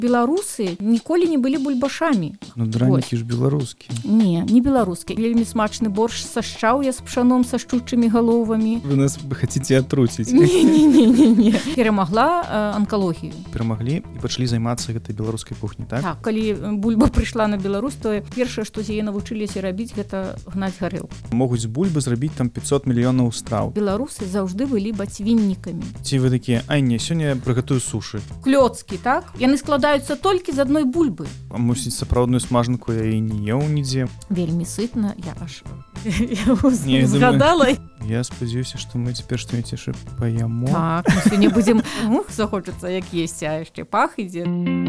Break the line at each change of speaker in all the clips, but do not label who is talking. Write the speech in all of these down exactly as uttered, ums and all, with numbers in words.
Беларусы ніколі не былі бульбашамі.
Ну, дранікі ж беларускія.
Не, не беларускія. Вельмі смачны борщ са шчаўя з пшаном са шчучымі галовамі.
Вы нас хацеце атруціць.
Не-не-не. Перамагла э, анкалогію.
Перамаглі і пачалі займацца гэтай беларускай кухняй, так?
Так, калі бульба прыйшла на Беларусь, то першае, што з яе навучыліся рабіць, гэта гнаць гарэлку.
Могуць з бульбы зрабіць там пятьсот мільёнаў страў.
Беларусы заўжды былі бацьвіннікамі.
Ці вы такія, ай не, сёння я прыгатую сушы.
Клёцкі, так? Яны складаюцца толькі з адной бульбы.
А мусіць, сапраўдную смажанку я і не еў нідзе.
Вельмі сытна, я аж я згадала.
Я спадзяюся, што мы цяпер што-небудзь яшчэ паяму.
Так, мы сёння будзем, ух, захочацца, як есці, а яшчэ пах ідзе.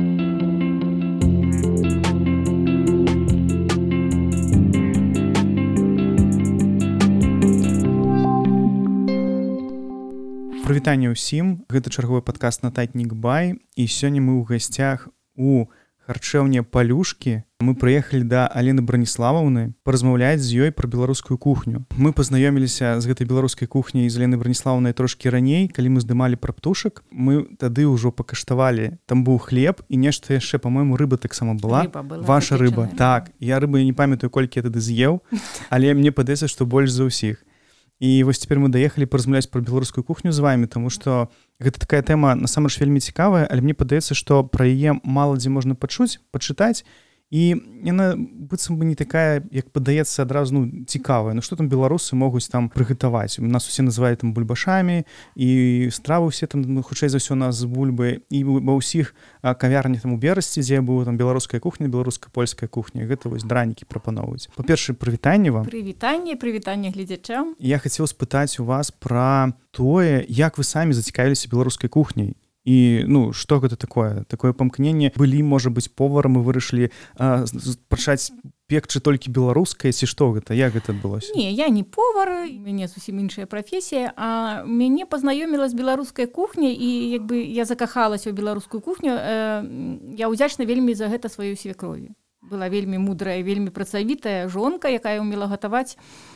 Прывітанне ўсім, гэта чарговы падкаст «Нататнік бай», і сёння мы ў гасцях у харчэўні «Палюшкі». Мы прыехалі да Алены Браніславаўны паразмаўляць з ёй пра беларускую кухню. Мы пазнаёміліся з гэтай беларускай кухняй з Аленай Браніславаўнай трошкі раней, калі мы здымалі пра птушак. Мы тады ўжо пакаштавалі, там быў хлеб і нешта яшчэ, па-мойму, рыба таксама была.
Рыба была
Ваша рыба.
запечаная.
Так, я рыбы не памятаю, колькі я тады з'еў, але мне падаецца, што больш за ўсіх. І вось цяпер мы даехалі паразмаўляць пра беларускую кухню з вамі, таму што гэта такая тэма насамрэч вельмі цікавая, але мне падаецца, што пра яе мала дзе можна пачуць, пачытаць, і яна быццам бы не такая, як падаецца адразу, ну, цікавая. Ну што там беларусы могуць там прыгатаваць? У нас усе называюць там бульбашамі, і стравы ўсе там, ну, хутчэй за ўсё у нас з бульбы, і ва ўсіх кавярнях там у Берасці, дзе была там беларуская кухня, беларуска-польская кухня, гэта вось дранікі прапаноўваюць. Па-першае, прывітанне вам.
Прывітанне, прывітанне гледзячам.
Я хацеў спытаць у вас пра тое, як вы самі зацікавіліся беларускай кухняй. І, ну, што гэта такое? Такое памкненне. Былі, можа быць, поварам і вырашылі а, пачаць пекчы толькі беларускае, ці што гэта? Як гэта адбылося?
Не, я не повар, у мяне зусім іншая прафесія, а мяне пазнаёміла з беларускай кухняй, і як бы я закахалася ў беларускую кухню, э, я ўдзячна вельмі за гэта сваёй свекрові. Была вельмі мудрая, вельмі працавітая жонка, якая ўмела гатаваць.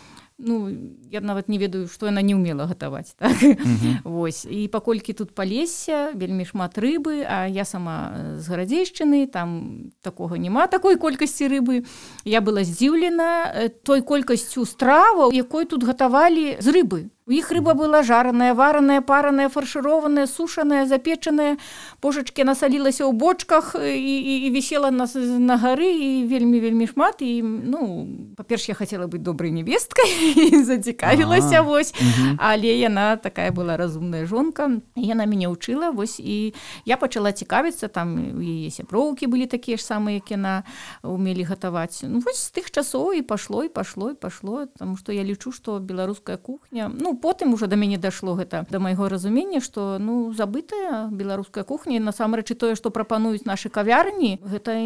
Ну, я нават не ведаю, што яна не ўмела гатаваць, так? Uh-huh. Вось. І паколькі тут Палесся, вельмі шмат рыбы, а я сама з Гарадзейшчыны, там такога няма такой колькасці рыбы. Я была здзіўлена той колькасцю страваў, якой тут гатавалі з рыбы. У іх рыба была жараная, вараная, параная, фаршырованая, сушаная, запечаная. Божачкі насалілася ў бочках і, і, і вісела на, на гары, і вельмі-вельмі шмат. І, ну, па-перш, я хацела быць добрай невесткай і зацікавілася, вось. Угу. Але яна такая была разумная жонка. Яна мяне ўчыла, вось, і я пачала цікавіцца, там у яе сяброўкі былі такія ж самыя, як яна умелі гатаваць. Ну, вось з тых часоў і пашло, і пашло, і пашло, таму што я лічу, што беларуская кухня, ну, потым уже да мяне дашло гэта да майго разумення, што, ну, забытая беларуская кухня, і насамрэч і тое, што прапануюць нашы кавярні, гэта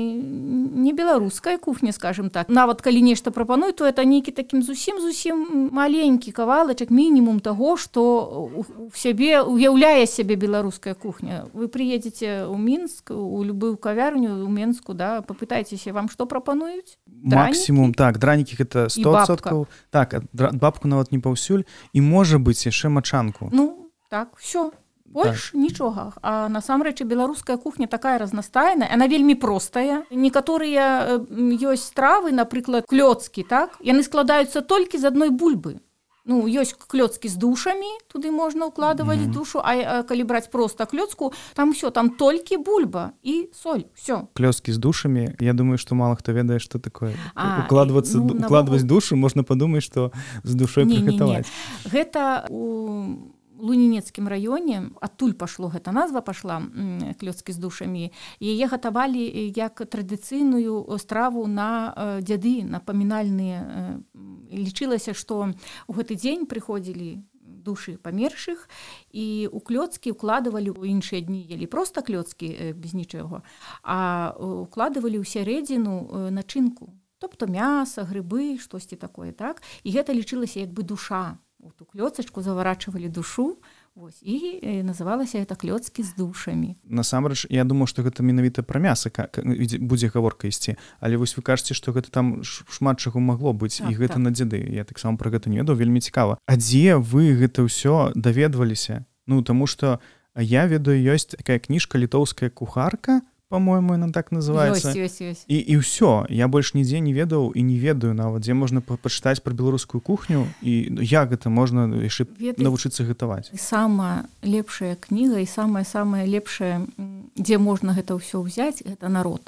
не беларуская кухня, скажем так. Нават калі нешта прапануюць, то это нейкі такім зусім-зусім маленькі кавалачак, мінімум таго, што у сябе уяўляе сябе беларуская кухня. Вы прыедзеце ў Мінск, у любую кавярню, у Менску, да, папытайцеся, вам што прапануюць?
Максімум, так, дранікі гэта сто адсоткаў. Так, бабку нават не паўсюль, і можа быць яшчэ мачанку.
Ну, так, все. Больш так. Нічога. А насамрэч беларуская кухня такая разнастайная, она вельмі простая. Некаторыя ёсць стравы, напрыклад, клёцкі, так? Яны складаюцца толькі з адной бульбы. Ну, ёсць клёцкі з душамі, туды можна ўкладваць mm-hmm. душу, а, а калі браць проста клёцку, там всё, там толькі бульба і соль, всё.
Клёцкі з душамі, я думаю, што мала хто ведае, што такое. А, укладвацца, ну, укладваць навогул... душу, можна падумаць, што з душой прыгатаваць.
Гэта у Лунінецкім раёне, адтуль пашло гэта назва пашла, клёцкі з душамі, і яе гатавалі як традыцыйную страву на дзяды, на памінальныя. Лічылася, што ў гэты дзень прыходзілі душы памершых, і ў клёцкі укладывалі, у іншыя дні елі проста клёцкі без нічога, а укладывалі ў сярэдзіну начынку, тобто мяса, грыбы, штосьці такое, так? І гэта лічылася як бы душа. У ту клёцачку заварачвалі душу, вось, і называлася гэта клёцкі з душамі.
Насамрэч, я думаю, што гэта менавіта пра мяса будзе гаворка ісці, але вось вы кажаце, што гэта там шмат чаго магло быць, так, і гэта так. На дзяды. Я таксама пра гэта не ведаў, вельмі цікава. А дзе вы гэта ўсё даведваліся? Ну, таму што я ведаю, ёсць такая кніжка «Літоўская кухарка», по-моему, она так называется.
Ёсць, ёсць, ёсць.
І, і ўсё. Я больш нідзе не ведаў і не ведаю нават, дзе можна пачытаць пра беларускую кухню і як гэта можна яшчэ навучыцца гатаваць.
Самая лепшая кніга і самая-самая лепшая, дзе можна гэта ўсё ўзяць, гэта народ.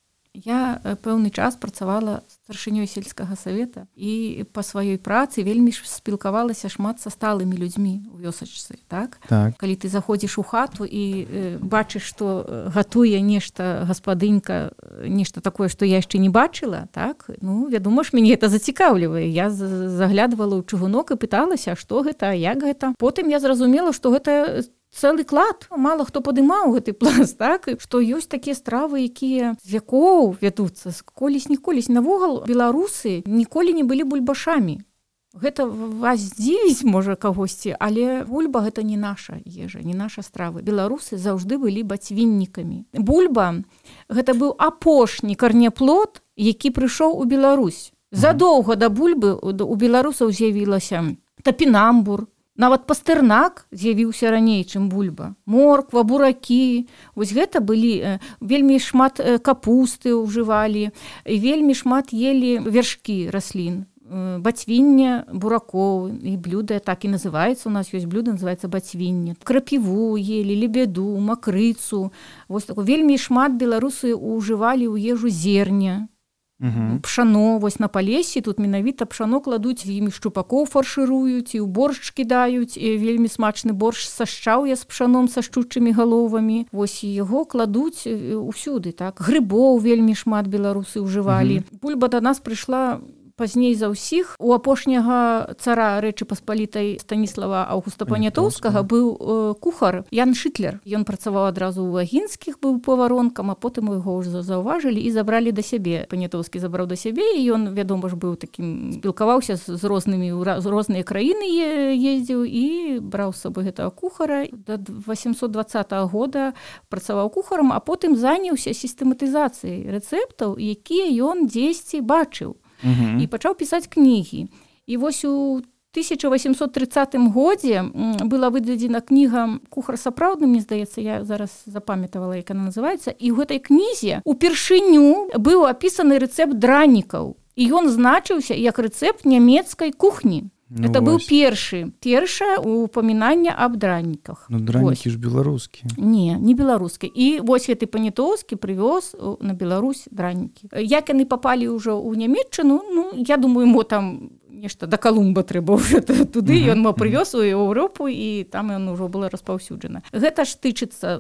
Я пэўны час працавала старшынёй сельскага савета і па сваёй працы вельмі спілкавалася шмат са сталымі людзьмі у вёсачцы, так?
Так.
Калі ты заходзіш у хату і э, бачыш, што гатуе нешта гаспадынька, нешта такое, што я яшчэ не бачыла, так? Ну, вядома ж, мяне гэта зацікаўлівае. Я заглядвала ў чыгунок і пыталася, што гэта, як гэта. Потым я зразумела, што гэта цэлы клад, мала хто падымаў гэты пласт, так, што ёсць такія стравы, якія з вякоў вядуцца, колісь-ніколісь. Навогул беларусы ніколі не былі бульбашамі. Гэта вас здзівіць, можа, кагосьці, але бульба гэта не наша ежа, не наша стравы. Беларусы заўжды былі бацьвіннікамі. Бульба гэта быў апошні карняплод, які прыйшоў у Беларусь. Задоўга да бульбы у беларусаў з'явілася тапінамбур, нават пастэрнак з'явіўся раней, чым бульба. Морква, буракі. Вось гэта былі, вельмі шмат капусты ўжывалі, і вельмі шмат елі вершкі раслін. Бацьвінне буракоў, і блюда так і называецца. У нас ёсць блюда, называецца бацьвінне. Крапіву елі, лебеду, макрыцу. Вось такое. Вельмі шмат беларусы ўжывалі ў ежу зерня. Uh-huh. Пшано, вось на Палесі, тут менавіта пшано кладуць, імі шчупакоў фаршыруюць, і ў боршч кідаюць, і вельмі смачны боршч са шчаўя з пшаном, са шчучымі галовамі. Вось яго кладуць усюды, так. Грыбоў вельмі шмат беларусы ўжывалі. Uh-huh. Бульба да нас прыйшла пазней за ўсіх. У апошняга цара Рэчы Паспалітай Станіслава Аўгуста Панятоўскага быў э, кухар Ян Шытлер. Ён працаваў адразу ў Агінскіх, быў поваронкам, а потым яго ўжо заўважылі і забралі да сябе. Панятоўскі забраў да сябе, і ён, вядома ж, быў такім, спілкаваўся з рознымі, з розныя краіны ездзіў і браў з сабой гэтага кухара. Да васемсот дваццатага года працаваў кухарам, а потым заняўся сістэматызацыяй рэцэптаў, якія ён дзесьці бачыў. Uh-huh. І пачаў пісаць кнігі. І вось у тысяча васемсот трыццатым годзе была выдадзена кніга «Кухар сапраўдны», мне здаецца, я зараз запамятавала, як она называецца, і ў гэтай кнізе упершыню быў апісаны рэцэпт дранікаў. І ён значыўся як рэцэпт нямецкай кухні. Ну, это быў першы, першае упамінанне аб драніках.
Ну, дранікі ж беларускія.
Не, не беларускія. І вось гэты Панятоўскі прывёз на Беларусь дранікі. Як яны папалі ўжо ў Нямецчыну, ну, я думаю, мо там нешта да Калумба трэба ўжо туды, ён мо прывёз у Еўропу, і там ён ужо было распаўсюджана. Гэта ж тычыцца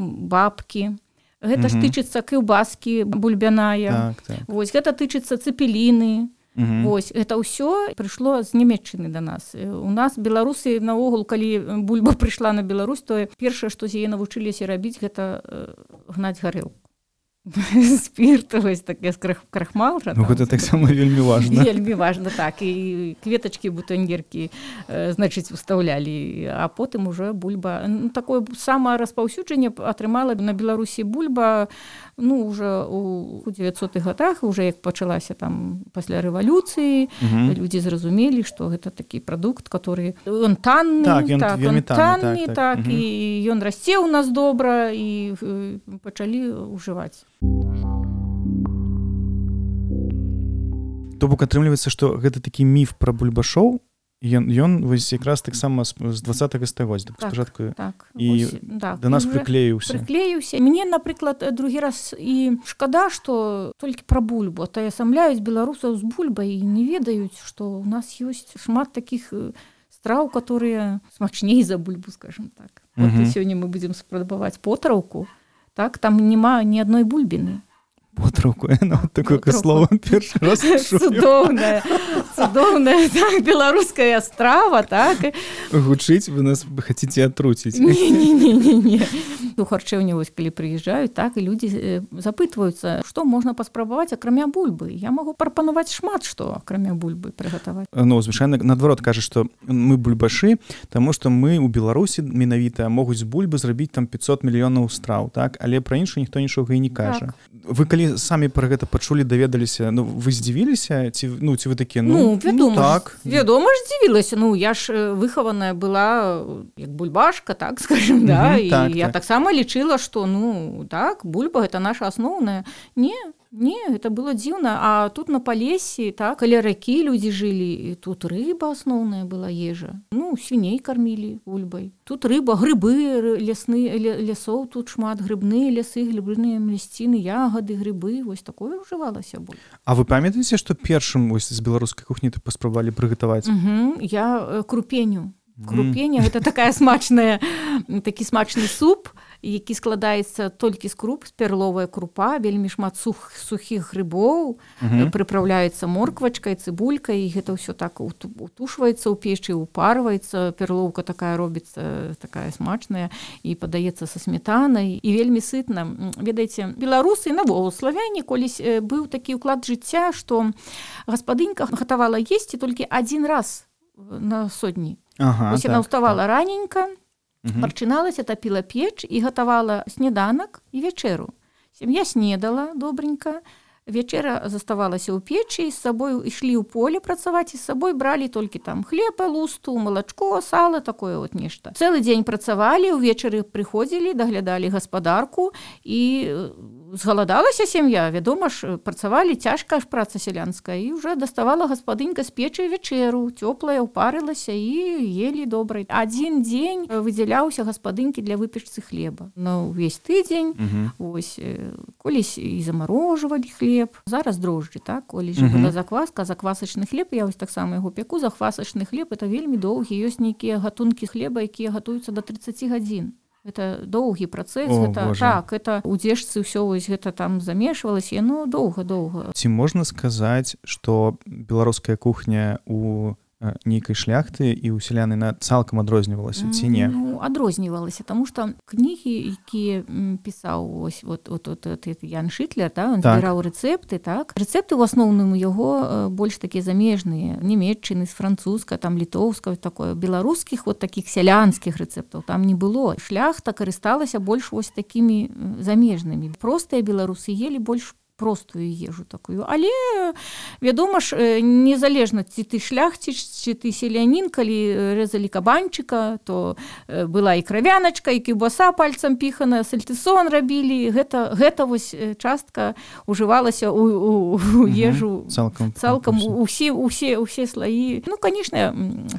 бабкі, гэта ж тычыцца кілбаскі бульбяная,
так, так.
Вось, гэта тычыцца цэпеліны.
Uh-huh.
Вось, гэта ўсё прыйшло з Нямецчыны да нас. У нас беларусы наогул, калі бульба прыйшла на Беларусь, то першае, што з яе навучыліся рабіць, гэта гнаць гарэлку. Спірт, вось такі крахмал.
Ну, гэта таксама вельмі важна.
Вельмі важна, так. І кветачкі, бутоньеркі, значыць, устаўлялі. А потым уже бульба... Ну, такое самае распаўсюджанне атрымала на Беларусі бульба, ну, уже у дзевяццатых годах, уже як пачалася там пасля рэвалюцыі, угу. Людзі зразумелі, што гэта такі прадукт, который... Ён танны,
так, ён,
так, ён танны,
так,
так,
так. Угу.
І ён расце ў нас добра, і пачалі ўжываць.
То бок атрымліваецца, што гэта такі міф пра бульбашоў, ён, ён вось якраз таксама з дваццатага стагоддзя, так, спачатку,
так,
і
ось, так,
да нас прыклеіўся.
Прыклеіўся. Мне, напрыклад, другі раз і шкада, што толькі пра бульбу атаясамляюць беларусаў з бульбай і не ведаюць, што ў нас ёсць шмат такіх страў, которые смачней за бульбу, скажем так. Вот uh-huh. Сёння мы будзем спрабаваць потраўку, так, там няма ні адной бульбіны.
Потраўку, ну, такое слово першы раз чую.
Цудоўная, цудоўная, так, беларуская страва, так.
Гучыць, вы нас хацеце атруціць.
Не-не-не-не. У харчэўні, вось, калі прыязджаюць, так, і людзі запытваюцца, што можна паспрабаваць, акрамя бульбы. Я магу прапанаваць шмат што, акрамя бульбы, прыгатаваць.
Ну, звычайна, наадварот, кажа, што мы бульбашы, таму што мы ў Беларусі менавіта могуць з бульбы зрабіць там пятьсот мільёнаў страў, так, але пра іншую ніхто нічога і не кажа. Вы калі самі пра гэта пачулі, даведаліся, ну, вы здзівіліся? Ці, ну, ці вы такія, ну,
ну, вядома,
ну так.
Вядома ж здзівілася. Ну, я ж выхаваная была як бульбашка, так, скажем, да, і
так,
я
так.
таксама мама лічыла, што ну так, бульба гэта наша асноўная. Не, не, это было дзіўна. А тут на Палесе, так, каля ракі людзі жылі, тут рыба асноўная была ежа. Ну, свіней кармілі бульбай. Тут рыба, грыбы, лясны, лясоў тут шмат, грыбныя лясы, грыбныя мясціны, ягады, грыбы, вось такое ўжывалася бульба.
А вы памятаеце, што першым вось з беларускай кухні ты паспрабавалі прыгатаваць?
Угу, я крупеню. Крупенне гэта такая смачная, такі смачны суп, які складаецца толькі з круп, з перловая крупа, вельмі шмат сух, сухіх грыбоў, uh-huh. прыпраўляецца морквачкай, цыбулькай, і гэта ўсё так утушваецца ў печы, упарваецца, перлоўка такая робіцца, такая смачная, і падаецца са сметанай, і вельмі сытна. Ведаеце, беларусы, навогул славяне, колісь быў такі ўклад жыцця, што гаспадынька гатавала есці толькі адзін раз на сотні.
Ага,
Вось
так,
яна ўставала
так.
раненька, угу. прачыналася, тапіла печ і гатавала сняданак і вячэру. Сям'я снедала добренька, вячэра заставалася ў печы, і з сабой ішлі ў поле працаваць, і з сабой бралі толькі там хлеб, лусту, малачко, сала, такое вот нешта. Цэлы дзень працавалі, увечары прыходзілі, даглядалі гаспадарку, і згаладалася сям'я, вядома ж, працавалі, цяжка ж праца сялянская, і ўжо даставала гаспадынька з печы вячэру, цёплая, упарылася, і елі добра. Адзін дзень выдзяляўся гаспадынькі для выпечцы хлеба. На ўвесь тыдзень, угу. вось, колісь і замарожвалі хлеб. Зараз дрожджы, так? Колісь жа была закваска, заквасачны хлеб, я вось таксама яго пяку, заквасачны хлеб, это вельмі доўгі, ёсць нейкія гатункі хлеба, якія гатуюцца да трыццаць гадзін. Это доўгі працэс,
О,
гэта, так, это у дзежцы ўсё вось гэта там замешвалася, ну, доўга-доўга.
Ці можна сказаць, што беларуская кухня у нейкай шляхты і ў сяляны цалкам адрознівалася, ці не?
Ну, адрознівалася, таму што кнігі, якія пісаў ось, вот, вот, вот, вот, Ян Шытлер, да, он так. збіраў рэцэпты, так? Рэцэпты ў асноўным у яго больш такія замежныя, нямецчыны, з французска, там літоўска, такое, беларускіх вот такіх сялянскіх рэцэптаў там не было. Шляхта карысталася больш вось такімі замежнымі. Простыя беларусы елі больш простую ежу такую. Але, вядома ж, незалежна, ці ты шляхціч, ці ты селянін, калі рэзалі кабанчыка, то была і кравяначка, і кібаса пальцам піхана, сальтысон рабілі. Гэта, гэта вось частка ўжывалася ў, у, у ежу
цалкам,
цалкам усе, усе, усе слаі. Ну, канешне,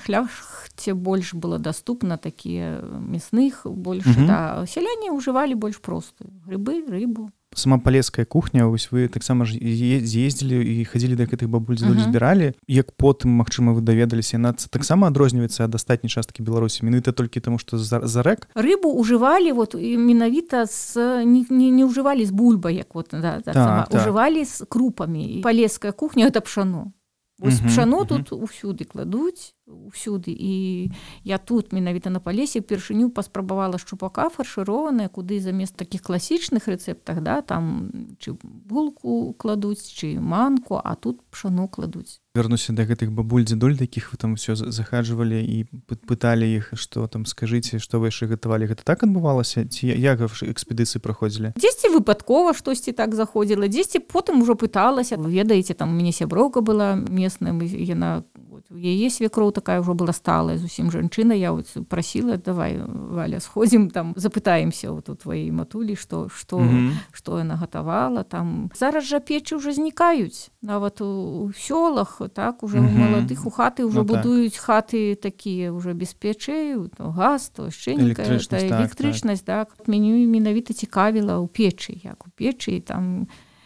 шляхце больш было даступна такія мясных, больш, угу. да. Сяляне ўжывалі больш простую. Грыбы, рыбу.
Сама палеская кухня, вось вы таксама ж з'ездзілі і хадзілі да гэтых бабуль дзедуль uh-huh. збіралі. Як потым, магчыма, вы даведаліся, яна таксама адрозніваецца ад астатняй часткі Беларусі, менавіта толькі таму, што за, за рэк?
Рыбу ўжывалі вот менавіта з не, не, не ўжывалі з бульбай, як вот, да, так, сама, так. Ўжывалі з крупамі. Палеская кухня гэта пшано. Вось uh-huh, пшано uh-huh. тут усюды кладуць, усюды. І я тут менавіта на Палесе першыню паспрабавала шчупака фаршыраванае, куды замест такіх класічных рэцэптах, да, там чы булку кладуць, чы манку, а тут пшано кладуць.
Вярнуся да гэтых бабуль дзедуль, такіх вы там ўсё захаджвалі і пыталі іх, што там скажыце, што вы яшчэ гатавалі. Гэта так адбывалася? Ці як экспедыцыі праходзілі?
Дзесьці выпадкова штосьці так заходзіла, дзесьці потым ужо пыталася. Вы ведаеце, там у мяне сяброўка была местная, яна у яе свекроў такая ўжо была сталая зусім жанчына, я вот прасіла, давай, Валя, сходзім, там запытаемся вот у твоей матулі, што што mm-hmm. што яна гатавала там. Зараз жа печы ўжо знікаюць, нават у, у сёлах, так, уже mm-hmm. у маладых у хаты ўжо ну, будуюць так. Хаты такія ўжо без печэй, то газ, то шчэнька,
электрычнасць,
та, электрычнасць, так, так. Мяне менавіта цікавіла ў печы, як у печы, там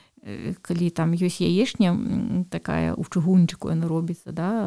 калі там ёсць яешня такая у чыгунчыку яна робіцца, да,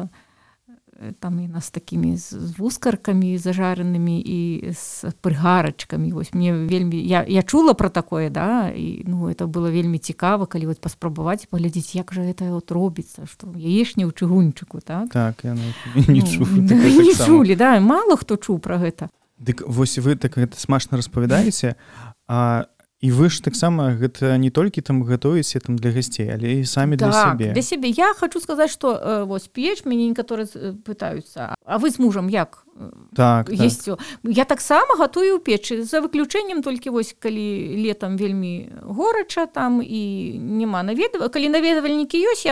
там яна з такімі з вускаркамі зажаранымі і з прыгарачкамі. Вось мне вельмі я, я чула пра такое, да, і ну это было вельмі цікава, калі вот паспрабаваць паглядзець, як жа гэта вот робіцца, што яешня ў чыгунчыку, так?
Так, я не чуў.
Ну, не чулі, да, мала хто чуў пра гэта.
Дык вось вы так гэта смачна распавядаеце, а і вы ж таксама гэта не толькі там гатуеце там для гасцей, але і самі
так,
для сябе.
Для сябе. Я хочу сказаць, што э, вось печ, мяне некаторыя пытаюцца, а вы з мужам як?
Так,
есть
так.
Я таксама гатую ў печы, за выключэннем толькі вось калі летам вельмі горача там і няма наведвальнікі, калі наведвальнікі ёсць, я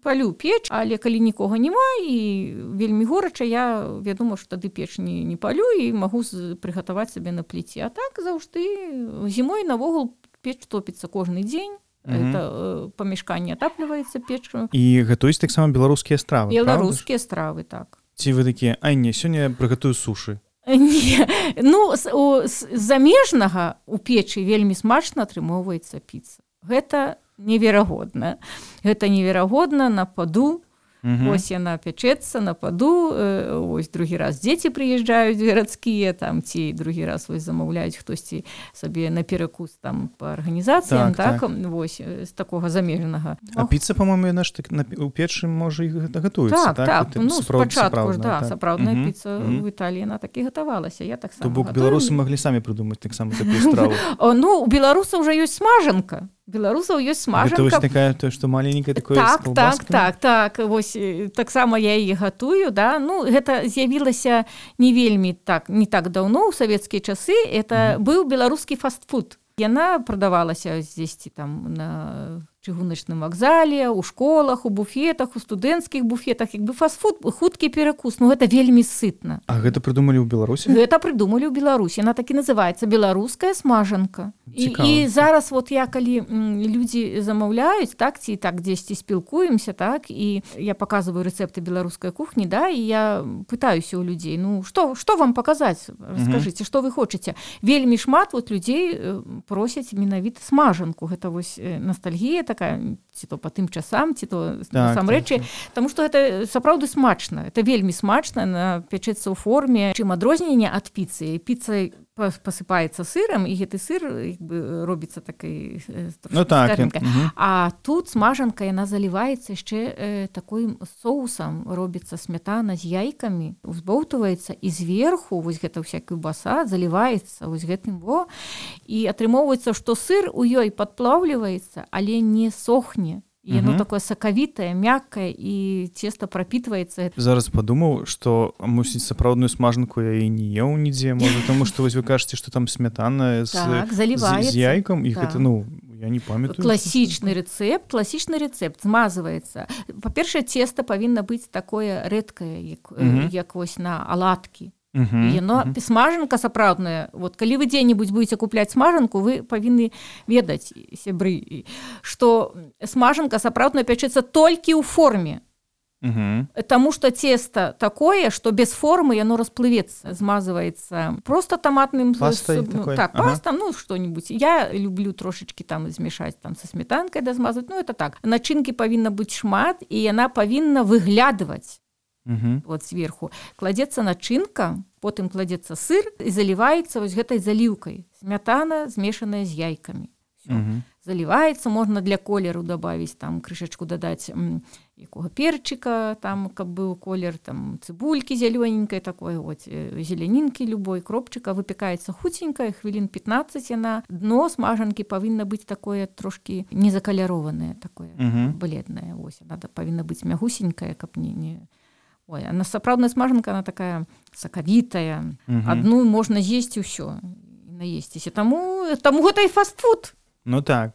палю печ, але калі нікога няма і вельмі горача, я вядома, што тады печ не, не палю і магу прыгатаваць сабе на пліце. А так заўжды зімой навогул печ топіцца кожны дзень. Это э, памяшканне атапліваецца печкаю.
І гатуюць таксама беларускія стравы,
беларускія стравы, так.
Ці вы такія, ай не, сёння прыгатую сушы?
Не, ну, з, у, з замежнага у печы вельмі смачна атрымоўваецца піца. Гэта неверагодна. Гэта неверагодна на паду. Угу. Ось яна пячэцца на паду, э, ось другі раз дзеці прыязджаюць гарадскія, там, ці другі раз вось замаўляюць хтосьці сабе на перакус там па арганізацыям, так, так? Вось, з такога замежнага.
А Ох. Піца, па-моему, яна ж так, на, у печы можа і гатуецца,
так? Так, так, ну, спачатку ж, да,
так.
сапраўдная
угу.
піца угу. в Італіі, яна так і гатавалася, я так сама
То бок беларусы маглі самі прыдумаць таксама такую страву.
Ну, у беларусаў уже ёсць смажанка. Беларусаў ёсць смажанка.
Гэта вось такая, то, што маленькая такое
так,
з калбаскамі?
Так, так, так. Вось таксама я яе гатую, да. Ну, гэта з'явілася не вельмі так, не так даўно, у савецкія часы. Это mm. быў беларускі фастфуд. Яна прадавалася здесьці там на чыгуначным вакзале, у школах, у буфетах, у студэнцкіх буфетах, як бы фастфуд, хуткі перакус, ну гэта вельмі сытна.
А гэта прыдумалі ў Беларусі?
Гэта прыдумалі ў Беларусі. Яна так і называецца беларуская смажанка. І, і зараз вот я калі м, людзі замаўляюць, так, ці так дзесьці спілкуемся, так, і я паказваю рэцэпты беларускай кухні, да, і я пытаюся ў людзей, ну што, што вам паказаць? Раскажыце, што вы хочаце? Вельмі шмат вот людзей просяць менавіта смажанку. Гэта вось ностальгія такая, ці то па тым часам, ці то
так,
насамрэчы,
так,
таму што гэта сапраўды смачна. Это вельмі смачна, на пячэцца ў форме. Чым адрозненне ад піцы? Піца пасыпаецца сырам, і гэты сыр як бы робіцца такой
ну, так,
скарынкай. А тут смажанка, яна заліваецца яшчэ э, такой соусам, робіцца сметана з яйкамі, узбоўтваецца, і зверху вось гэта ўся каўбаса заліваецца вось гэтым во, і атрымоўваецца, што сыр у ёй падплаўліваецца, але не сохне. І яно такое сакавітае, мяккае, і цеста прапітваецца.
Зараз падумаў, што, мусіць, сапраўдную смажанку я і не еў нідзе, можа, таму што вось вы кажаце, што там сметана з,
так,
з, з яйкам, і
так.
гэта, ну, я не памятаю.
Класічны рэцэпт, класічны рэцэпт змазваецца. Па-першае, цеста павінна быць такое рэдкае, як, mm-hmm. як вось на аладкі. Uh-huh, яно uh-huh. смажанка сапраўдная. Вот калі вы дзе-небудзь будете купляць смажанку, вы павінны ведаць, сябры, што смажанка сапраўдная пячэцца толькі ў форме. Uh-huh. Таму што цеста такое, што без формы яно расплывецца, змазваецца просто таматным
пастай
с...
такой.
Так,
ага.
паста, ну што-нибудь. Я люблю трошечки там змешаць там са сметанкай да змазваць. Ну это так. Начынкі павінна быць шмат, і яна павінна выглядваць.
Uh-huh.
Вот сверху кладецца начынка, потым кладецца сыр і заліваецца вось гэтай заліўкай. Смятана змешаная з яйкамі.
Uh-huh.
Заліваецца, можна для колеру дабавіць, там крышачку дадаць м, якога перчыка, там каб быў колер, там цыбулькі зялёненькай такой, вот зелянінкі любой, кропчыка, выпякаецца хуценька, хвілін пятнаццаць яна. Дно смажанкі павінна быць такое трошкі незакалярованае, такое uh-huh. бледнае. Ось, яна павінна быць мягусенькая, каб не не Ой, а сапраўдная смажанка, она такая сакавітая. Uh-huh. Адну можна з'есці ўсё, наесціся. Таму, таму гэта і фастфуд.
Ну так.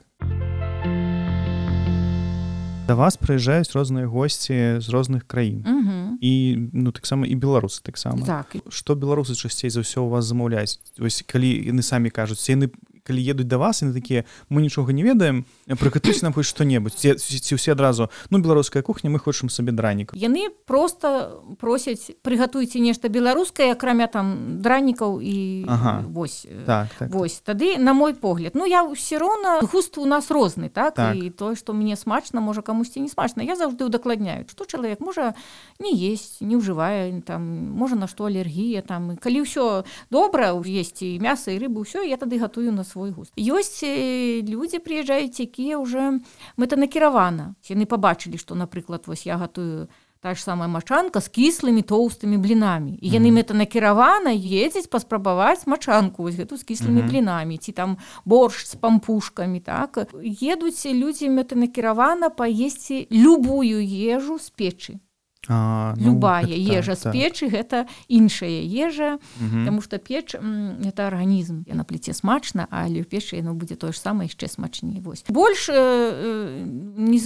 Да вас прыязджаюць розныя госці з розных краін.
Uh-huh.
І, ну, таксама і беларусы таксама.
Так.
Што беларусы часцей за ўсё у вас замаўляюць? Вось калі яны самі кажуць, яны калі едуць да вас, яны такія, мы нічога не ведаем, прыгатуйце нам хоць што-небудзь. Ці, ці ўсе адразу, ну, беларуская кухня, мы хочам сабе дранік.
Яны проста просяць, прыгатуйце нешта беларускае, акрамя там дранікаў і
ага.
вось.
Так, так.
Вось, тады, на мой погляд, ну, я ўсё роўна, густ у нас розны, так?
Так.
І тое, што мне смачна, можа камусьці не смачна. Я заўжды удакладняю, што чалавек можа не есць, не ўжывае, там, можа на што алергія, там. Калі ўсё добра, есці і мяса, і рыбу, ўсё, я тады гатую на свой густ. Ёсць людзі прыязджаюць, якія ўжо мэтанакіравана. Яны пабачылі, што, напрыклад, вось я гатую та ж самая мачанка з кіслымі тоўстымі блінамі. І яны mm-hmm. мэтанакіравана едзяць паспрабаваць мачанку вось гэту з кіслымі mm-hmm. блінамі, ці там боршч з пампушкамі, так. Едуць людзі мэтанакіравана паесці любую ежу з печы.
А, ну,
любая
так,
ежа
так,
з печы, так. Гэта іншая ежа,
угу.
таму што печ гэта арганізм. На пліце смачна, але ў печы яно будзе тое ж самае яшчэ смачней. Вось. Больш э, незвычайна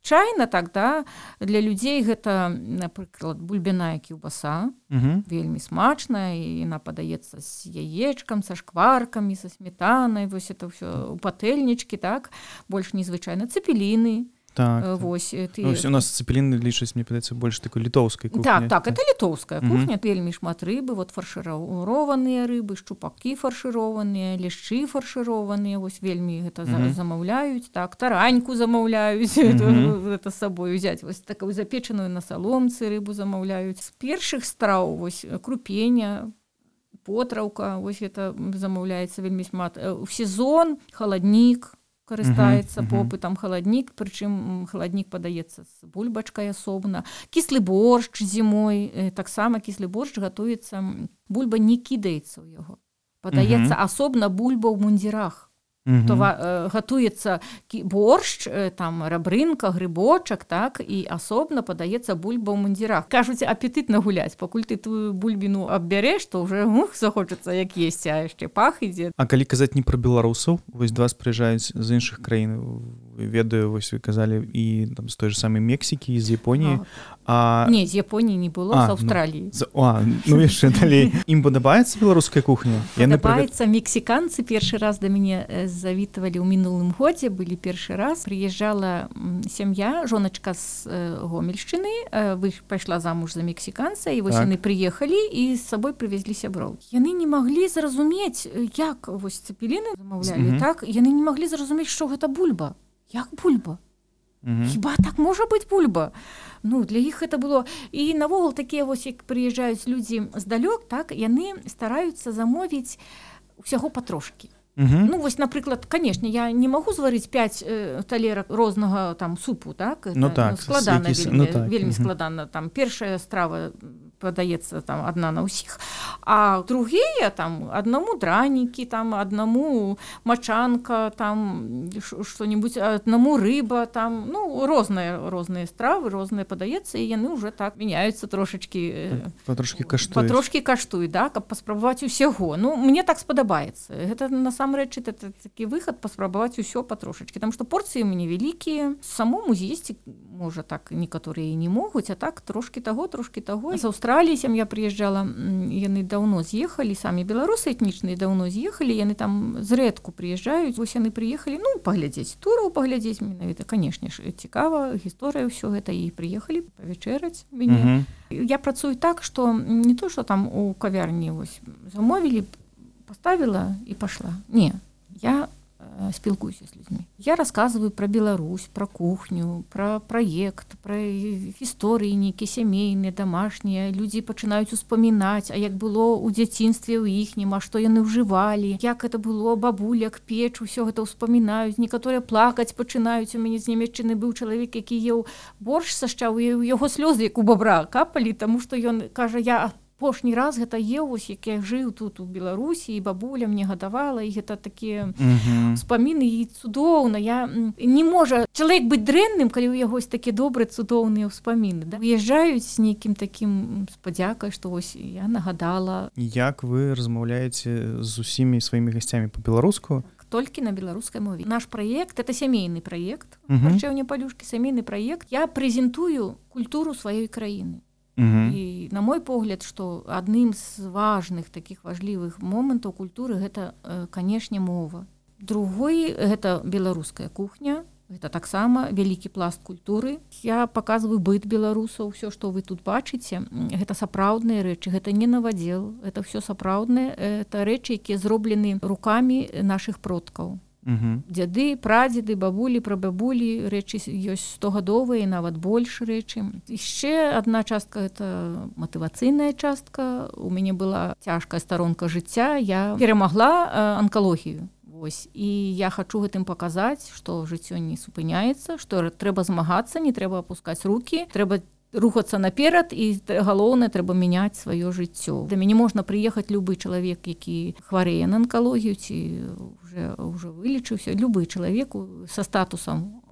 звычайна так, да, для людзей гэта, напрыклад, бульбяная кілбаса,
Угу.
вельмі смачная, і яна падаецца з яечкам, са шкваркамі, са сметанай, вось это ўсё у патэльнічкі, так, больш незвычайна. Цэпеліны,
Так,
вось ты...
ну, у нас цэпеліны лічаць, мне падаецца, больш такой літоўскай кухні.
Так, так, это літоўская
Мгм.
кухня, вельмі шмат рыбы, вот фаршырованыя рыбы, шчупакі фаршырованыя, лешчы фаршырованыя, вось вельмі гэта за-
Мгм.
замаўляюць, так, тараньку замаўляюць,
Мгм.
это, это з сабой узяць, вось такую запечаную на саломцы рыбу замаўляюць. З першых страў, вось крупення, потраўка, вось гэта замаўляецца вельмі шмат. Э, В сезон халаднік, карыстаецца
Мгм, мгм.
попытам халаднік, прычым халаднік падаецца з бульбачкай асобна. Кіслы боршч зімой, э, таксама кіслы боршч гатуецца, м, бульба не кідаецца ў яго. Падаецца
Мгм.
асобна бульба ў мундзірах.
Мгм.
То ва- э, гатуецца кі- боршч, э, там рабрынка, грыбочак, так, і асобна падаецца бульба ў мундзірах. Кажуць, апетытна гуляць, пакуль ты тую бульбіну аббярэш, то ўжо ух, захочацца як есці, а яшчэ пах ідзе.
А калі казаць не пра беларусаў, вось да вас прыязджаюць з іншых краін, ведаю, вось вы казалі і там з той же самай Мексікі, і з Японіі, а...
Не, з Японіі не было,
А,
з Аўстраліі.
З... А, ну яшчэ далей. Ім падабаецца беларуская кухня? Яны прыгад-
Падабаецца, мексіканцы першы раз да мяне э, завітвалі ў мінулым годзе, былі першы раз. Прыязджала м, сям'я, жоначка з э, Гомельшчыны, э, вы- пайшла замуж за мексіканца, і вось
Так.
яны прыехалі і з сабой прывезлі сяброў. Яны не маглі зразумець, э, як вось цэпеліны замаўлялі,
Мгм.
так? Яны не маглі зразумець, што гэта бульба. Як бульба?
Мгм.
Хіба так можа быць бульба? Ну, для іх гэта было. І навогул такія вось, як прыязджаюць людзі здалёк, так, яны стараюцца замовіць усяго патрошкі.
Мгм.
Ну, вось, напрыклад, канешне, я не магу зварыць пяць э, талерак рознага там супу, так?
Ну
Это,
так,
складана
якісь-
вельмі,
ну так,
вельмі
мгм.
складана. Там першая страва падаецца там адна на ўсіх, а другія там аднаму дранікі, там аднаму мачанка, там ш- што-нибудь, аднаму рыба, там, ну, розныя розныя стравы, розныя падаецца, і яны ўжо так мяняюцца трошачкі. э,
Патрошкі каштуюць.
Патрошкі каштуюць, да, каб паспрабаваць усяго. Ну, мне так спадабаецца. Гэта насамрэч это такі выхад паспрабаваць усё патрошачкі, там што порцыі ў мяне вялікія. Самому з'есці можа так некаторыя і не могуць, а так трошкі таго, трошкі таго. З Аўстраліі сям'я прыязджала, м, яны даўно з'ехалі, самі беларусы этнічныя даўно з'ехалі, яны там зрэдку прыязджаюць. Вось яны прыехалі, ну, паглядзець тураў, паглядзець менавіта, канешне ж, цікава, гісторыя ўсё гэта, і прыехалі павячэраць мяне.
Мгм.
Я працую так, што не то, што там у кавярні вось замовілі, паставіла і пашла. Не, я э, спілкуюся з людзьмі. Я расказваю пра Беларусь, пра кухню, пра праект, пра гісторыі нейкія сямейныя, дамашнія. Людзі пачынаюць успамінаць, а як было ў дзяцінстве ў іхнім, а што яны ўжывалі, як это было, бабуляк, печ, усё гэта ўспамінаюць. Некаторыя плакаць пачынаюць. У мяне з Нямецчыны быў чалавек, які еў боршч са шчаў, і ў яго слёзы, як у бабра, капалі, таму што ён кажа, я апошні раз гэта еў, вось як я жыў тут у Беларусі, і бабуля мне гадавала, і гэта такія
Мгм.
успаміны, і цудоўна. Я м, не можа чалавек быць дрэнным, калі ў яго ёсць такі добрыя цудоўныя ўспаміны. Да? Уязджаюць з нейкім такім спадзякай, што вось я нагадала.
Як вы размаўляеце з усімі сваімі гасцямі па-беларуску?
Толькі на беларускай мове. Наш праект это сямейны праект,
Мгм.
харчэўня палюшкі, сямейны праект. Я прэзентую культуру сваёй краіны.
Мгм.
І на мой погляд, што адным з важных такіх важлівых момантаў культуры гэта, э, канешне, мова. Другой гэта беларуская кухня. Гэта таксама вялікі пласт культуры. Я паказваю быт беларусаў, ўсё, што вы тут бачыце. Гэта сапраўдныя рэчы, гэта не навадзел, это ўсё сапраўднае, это рэчы, якія зроблены рукамі нашых продкаў.
Мгм.
Дзяды, прадзеды, бабулі, прабабулі, рэчы ёсць стогадовыя, нават больш рэчы. Яшчэ адна частка это матывацыйная частка. У мяне была цяжкая старонка жыцця, я перамагла э, анкалогію. Вось. І я хачу гэтым паказаць, што жыццё не супыняецца, што трэба змагацца, не трэба апускаць рукі, трэба рухацца наперад, і галоўнае, трэба мяняць сваё жыццё. Да мяне можна прыехаць любы чалавек, які хварэе на анкалогію ці уже, уже вылечыўся, любы чалавек са статусам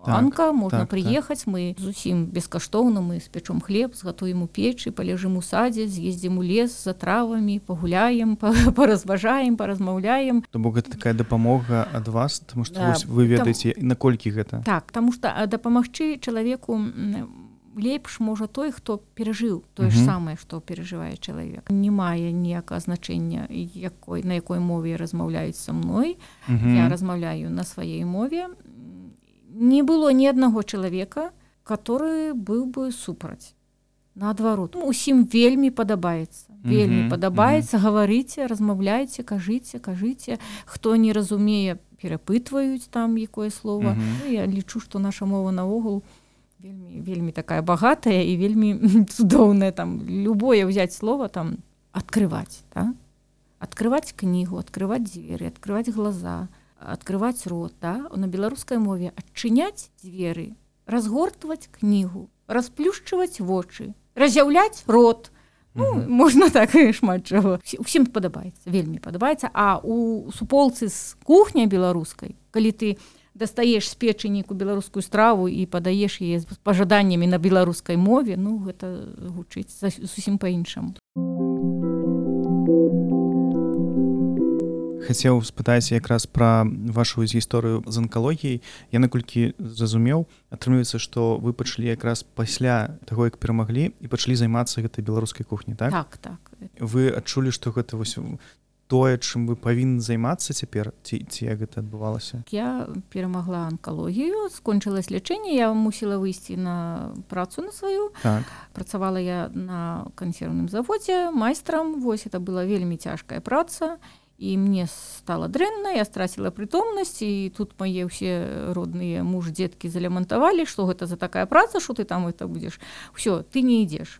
Анка, можна
так,
прыехаць, так. Мы зусім бескаштоўна, мы спячом хлеб, згатуем у печы, паляжым у садзе, з'ездзім у лес за травамі, пагуляем, паразважаем, паразмаўляем.
То бок гэта такая дапамога ад вас, таму што
Да,
вы ведаеце,
там...
наколькі гэта?
Так, таму што дапамагчы чалавеку лепш можа той, хто перажыў тое ж самае, што перажывае чалавек. Не мае ніякага значэння, якой, на якой мове размаўляюць са мной. Я размаўляю на сваёй мове. Не было ні аднаго чалавека, который быў бы супраць. Наадварот, усім вельмі падабаецца. Вельмі падабаецца, гаварыце, размаўляйце, кажыце, кажыце. Хто не разумее, перапытваюць там якое слова. Я лічу, што наша мова наогул вельмі, вельмі такая багатая і вельмі цудоўная. Там любое взять слово, там, открывать, да? Открывать книгу, открывать двери, открывать глаза, открывать рот, да? На беларускай мове адчыняць дзверы, разгортваць книгу, расплюшчваць вочы, раз'яўляць рот. Ну, uh-huh. Можна так і шмат чаго. Усім падабаецца, вельмі падабаецца. А у суполцы з кухняй беларускай, калі ты дастаеш з печы нейкую беларускую страву і падаеш яе з пажаданнямі на беларускай мове, ну, гэта гучыць зусім па-іншаму.
Хацеў спытаць якраз пра вашу гісторыю з анкалогіяй. Я наколькі зразумеў, атрымліваецца, што вы пачалі якраз пасля таго, як перамаглі, і пачалі займацца гэтай беларускай кухняй, так?
Так, так.
Вы адчулі, што гэта вось тое, чым вы павінны займацца цяпер, ці, ці як гэта адбывалася?
Я перамагла анкалогію, скончылась лячэнне, я мусіла выйсці на працу на сваю.
Так.
Працавала я на кансервным заводзе майстрам, вось это была вельмі цяжкая праца, і мне стала дрэнна, я страціла прытомнасць, і тут мае ўсе родныя муж, дзеткі залямантавалі, што гэта за такая праца, што ты там это будзеш. Усё, ты не ідзеш.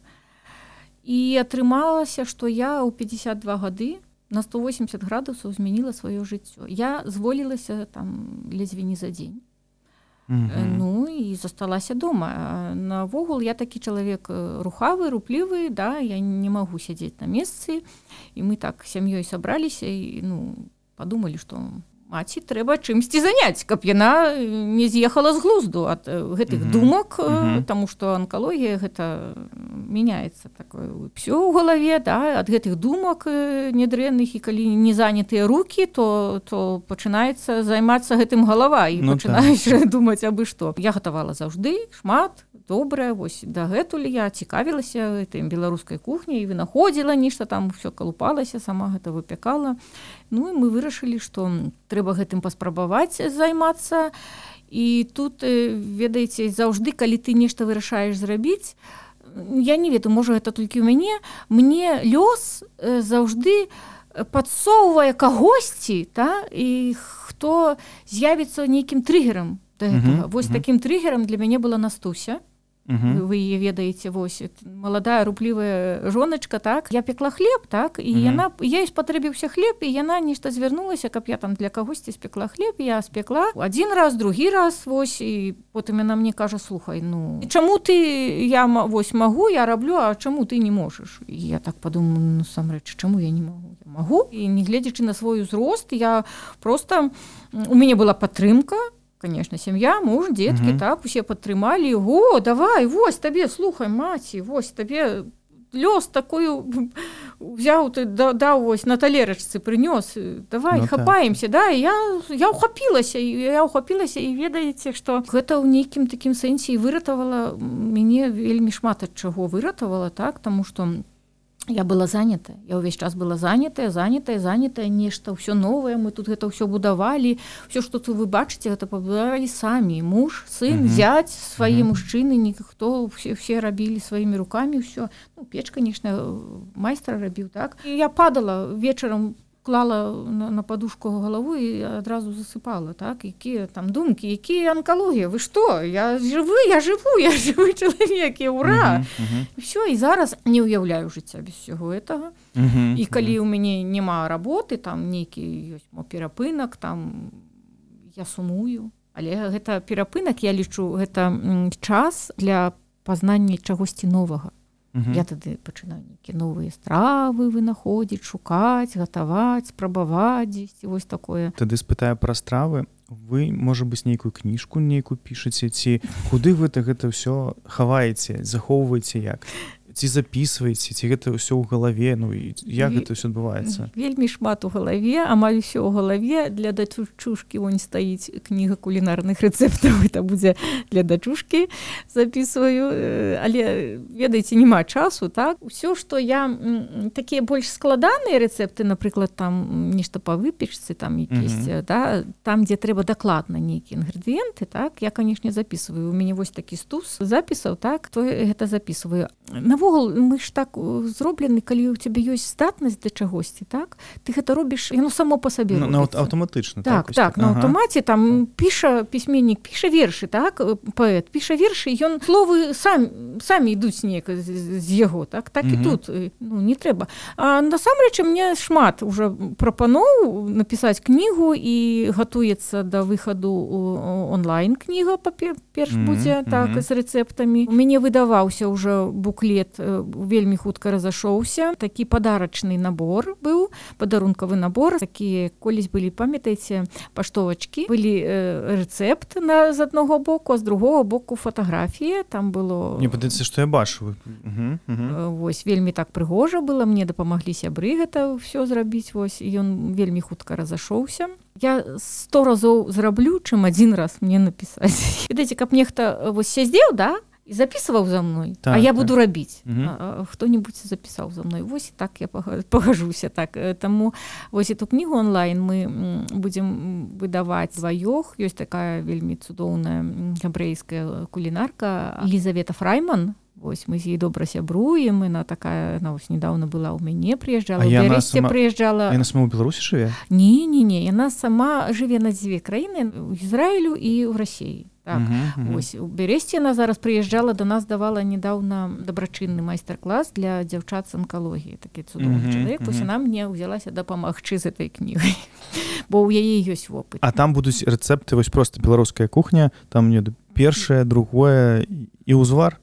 І атрымалася, што я ў пятьдесят два гады на сто восемьдесят градусаў змяніла сваё жыццё. Я зволілася там ледзьве не за дзень. Mm-hmm. Ну і засталася дома. Навогул я такі чалавек рухавы, руплівы, да, я не магу сядзець на месцы. І мы так сям'ёй сабраліся і ну, падумалі, што маці трэба чымсьці заняць, каб яна не з'ехала з глузду ад гэтых mm-hmm. думак, mm-hmm. таму што анкалогія гэта мяняецца такое ўсё ў галаве, да, ад гэтых думак нядрэнных, і калі не занятыя рукі, то, то пачынаецца займацца гэтым галава і ну, пачынаеш так. думаць абы што. Я гатавала заўжды шмат, добрая, вось дагэтуль я цікавілася гэтай беларускай кухняй і вынаходзіла нешта там, усё калупалася, сама гэта выпякала. Ну і мы вырашылі, што трэба гэтым паспрабаваць займацца. І тут, ведаеце, заўжды, калі ты нешта вырашаеш зрабіць, я не ведаю, можа, гэта толькі ў мяне, мне лёс заўжды падсоўвае кагосьці, та, і хто з'явіцца нейкім трыгерам да гэтага. Uh-huh, вось uh-huh. такім трыгерам для мяне была Настуся. Uh-huh. Вы яе ведаеце, вось, маладая, руплівая жоначка, так, я пекла хлеб, так, і uh-huh. яна, ёй спатрэбіўся хлеб, і яна нешта звярнулася, каб я там для кагосьці спекла хлеб, я спекла адзін раз, другі раз, вось, і потым яна мне кажа, слухай, ну, чаму ты, я, вось, магу, я раблю, а чаму ты не можаш? І я так падумаю, ну, самрэч, чаму я не магу? Я магу, і не гледзячы на свой узрост, я просто, у мяне была падтрымка, конечно, сям'я, муж, дзеткі, uh-huh. так, усе падтрымалі. О, давай, вось табе, слухай, маці, вось табе лёс такую взяў, ты даў вось на талерачцы прынёс. Давай, ну, хапаемся, так. Да, я, я ўхапілася, я ўхапілася, і ведаеце, што гэта ў нейкім такім сэнсе і выратавала, мяне вельмі шмат ад чаго выратавала, так, таму што я была занятая, я ўвесь час была занятая, занятая, занятая, нешта, ўсё новае, мы тут гэта ўсё будавалі, ўсё, што тут вы бачыце, гэта пабудавалі самі, муж, сын, uh-huh. зяць, свае uh-huh. мужчыны, ніхто, все, все рабілі сваімі рукамі, ўсё, ну, печ, конечно, майстра рабіў, так, і я падала вечарам, клала на, на подушку галаву і адразу засыпала, так, якія там думкі, якія анкалогія, вы што, я жывы, я жыву, я жывы чалавек, я ура, uh-huh, uh-huh. І все, і зараз не ўяўляю жыцця без всего этого, uh-huh, і калі uh-huh. у мяне няма работы, там нейкі ёсць мо перапынак, там я сумую, але гэта перапынак, я лічу, гэта час для пазнання чагосьці новага. Uh-huh. Я тады пачынаю нейкія новыя стравы вынаходзіць, шукаць, гатаваць, спрабаваць дзесьці, вось такое.
Тады спытаю пра стравы. вы можа быць нейкую кніжку нейкую пішаце ці куды вы так гэта ўсё хаваеце захоўваеце як ці записываеце ці гэта ўсё ў галаве ну і як
Ве...
гэта ўсё адбываецца
вельмі шмат у галаве амаль усё ў галаве для дачушкі вон стаіць кніга кулінарных рэцэптаў это будзе для дачушкі записываю але ведаеце няма часу так усё што я такія больш складаныя рэцэпты напрыклад там нешта па выпечцы там якісь mm-hmm. да там дзе трэба дакладна нейкія інгрэдыенты так я канешне записываю у мяне вось такі стус запісаў так то гэта записываю на мы ж так зроблены калі у цябе ёсць здатнасць да чагосьці так ты гэта робіш яно само па сабе
на аўтаматычна
так так, так на аўтамаце ага. там піша пісьменнік піша вершы так паэт піша вершы ён словы сам самі ідуць неяк з, з яго так так і тут ну не трэба а насамрэч мне шмат уже прапаноў напісаць кнігу і гатуецца да выхаду онлайн кніга перш будзе так з рэцэптамі у мяне выдаваўся ўжо буклет вельмі хутка разашоўся такі падарачны набор быў падарункавы набор такія колісь былі памятаеце паштовачкі былі э, рэцэпт на з аднаго боку а з другого боку фатаграфія там было
мне падаецца што я бачу угу,
угу. Вось вельмі так прыгожа было мне дапамаглі сябры гэта ўсё зрабіць вось ён вельмі хутка разашоўся я сто разоў зраблю чым адзін раз мне напісаць ведаеце каб нехта вось сядзеў да і записываў за мной так, а я буду так. рабіць угу. хто-нибудь запісаў за мной вось так я пагажуся так таму вось эту кнігу онлайн мы будзем выдаваць дваёх ёсць такая вельмі цудоўная габрэйская кулінарка Елізавета Фрайман вось мы з ёй добра сябруем яна такая на вось недавно была ў мяне прыязджала
сама...
прыязджала
яна сама ў Беларусі жыве
не не не яна сама жыве на дзве краіны у Ізраілю і ў Расіі так, uh-huh, uh-huh. Ось у Бересце яна зараз прыязджала до нас давала недавно дабрачынны майстар-клас для дзяўчат з анкалогіі такі цудоўны uh-huh, чалавек uh-huh. вось яна мне ўзялася дапамагчы з этой кнігай бо ў яе ёсць вопыт
а там будуць рэцэпты вось просто беларуская кухня там мне першае другое і ўзвар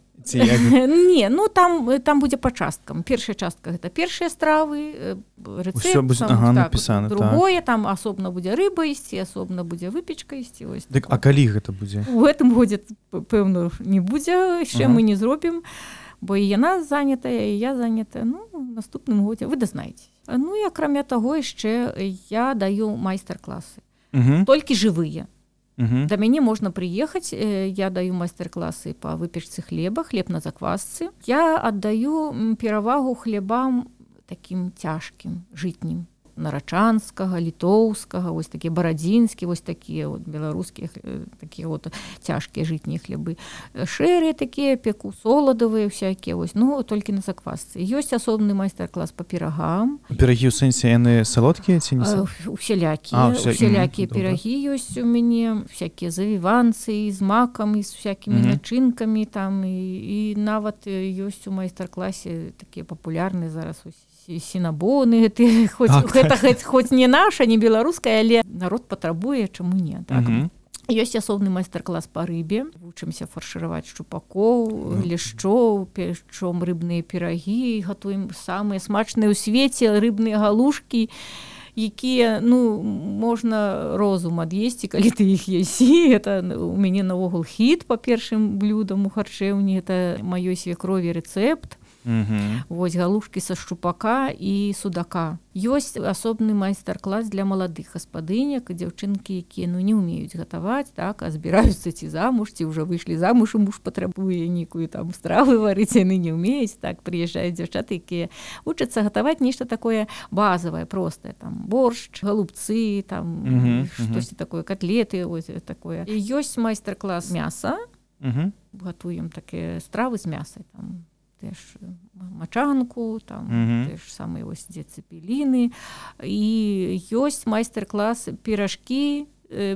не ну там там будзе па часткам першая частка гэта першыя стравы рэцэпт
будзе, ага, так, напісана,
другое так. Там асобна будзе рыба ісці асобна будзе выпечка ісці ось
так, а калі гэта будзе
у гэтым годзе пэўна не будзе яшчэ ага. мы не зробім бо і яна занятая і я занятая ну наступным годзе вы дазнаеце ну і акрамя таго яшчэ я даю майстар-класы
угу.
толькі жывыя
Uh-huh.
Да мяне можна прыехаць, я даю майстар-класы па выпечцы хлеба, хлеб на заквасцы. Я аддаю перавагу хлебам такім цяжкім, жытнім. Нарачанскага, літоўскага, вось такія барадзінскі, вось такія вот беларускія такія вот цяжкія жытнія хлебы. Шэрыя такія, пеку соладавыя всякія, вось, ну толькі на заквасцы. Ёсць асобны майстар-клас па пірагам.
Пірагі ў сэнсе яны салодкія ці не
салодкія? Усялякія, уся... усялякія mm, пірагі добра. Ёсць у мяне, всякія завіванцы з макам і з всякімі mm-hmm. начынкамі там і, і нават ёсць у майстар-класе такія папулярныя зараз ось сінабоны гэты хоць так, гэта так. Хоць не наша не беларуская але народ патрабуе чаму не так
угу.
Ёсць асобны майстар-клас па рыбе вучымся фаршыраваць шчупакоў лешчоў печом рыбныя пірагі гатуем самыя смачныя ў свеце рыбныя галушкі якія ну можна розум ад'есці калі ты іх есі это у мяне наогул хіт па першым блюдам у харчэўні это маёй свекрові рэцэпт.
Uh-huh.
Вось галушкі са шчупака і судака. Ёсць асобны майстар-клас для маладых гаспадыняк, дзяўчынкі, якія ну не ўмеюць гатаваць, так, а збіраюцца ці замуж, ці ўжо выйшлі замуж, і муж патрабуе нейкую там стравы варыць, яны не ўмеюць, так, прыязджаюць дзяўчаты, якія вучацца гатаваць нешта такое базавае, простае, там боршч, голубцы, там uh-huh, штосьці uh-huh. такое, котлеты, ось такое. І ёсць майстар-клас мяса.
Uh-huh.
Гатуем такія стравы з мясай, там теж мачанку, там
mm-hmm.
теж самыя вось дзе цэпеліны. І ёсць майстар-клас піражкі,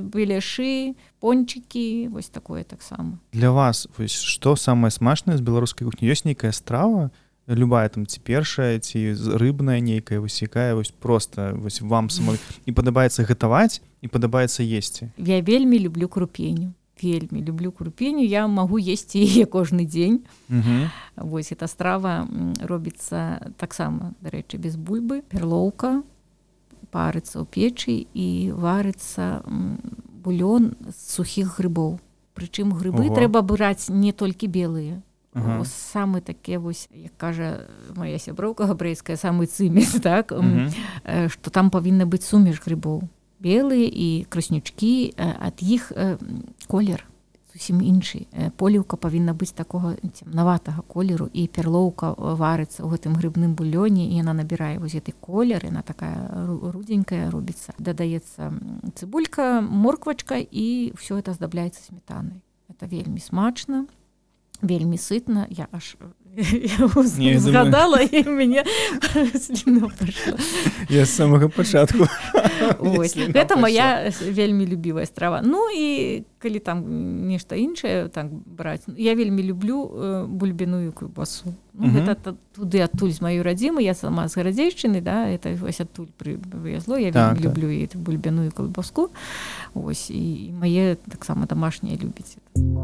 беляшы, пончыкі, вось такое таксама.
Для вас вось што самае смачнае з беларускай кухні? Ёсць нейкая страва, любая там ці першая, ці рыбная нейкая, вось якая вось проста вось вам самой і падабаецца гатаваць, і падабаецца есці?
Я вельмі люблю крупеню. Вельмі люблю крупеню, я магу есці яе кожны дзень.
Uh-huh.
Вось эта страва робіцца таксама, дарэчы, без бульбы. Перлоўка парыцца ў печы і варыцца бульон з сухіх грибоў. Прычым грыбы
Ого.
трэба браць не толькі белыя.
Ага.
Самы такі вось, як кажа моя сяброўка габрэйская, самы цыміс, так?
Мгм.
Э, што там павінна быць сумеш грыбоў. Белыя і краснючкі, э, ад іх э, колер зусім іншы. Э, поліўка павінна быць такога цемнаватага колеру, і перлоўка варыцца ў гэтым грыбным бульёне, і яна набірае вось гэты колер, яна такая ру- рудзенькая робіцца. Дадаецца м, цыбулька, морквачка, і ўсё это аздабляецца сметанай. Это вельмі смачна, вельмі сытна. Я аж я
Не, я думаю-
згадала, і мяне сліна пайшла.
Я з самага пачатку.
Ось.
Сліна
Гэта
пайшла.
моя вельмі любівая страва. Ну і калі там нешта іншае так браць, я вельмі люблю э, бульбяную каўбасу. Ну,
Мгм.
гэта та- туды адтуль з маёй радзімы, я сама з Гарадзейшчыны, да, это вось адтуль прывезло, я
Так,
вельмі
так.
люблю і эту бульбяную каўбаску. Ось, і мае таксама домашнія любяць.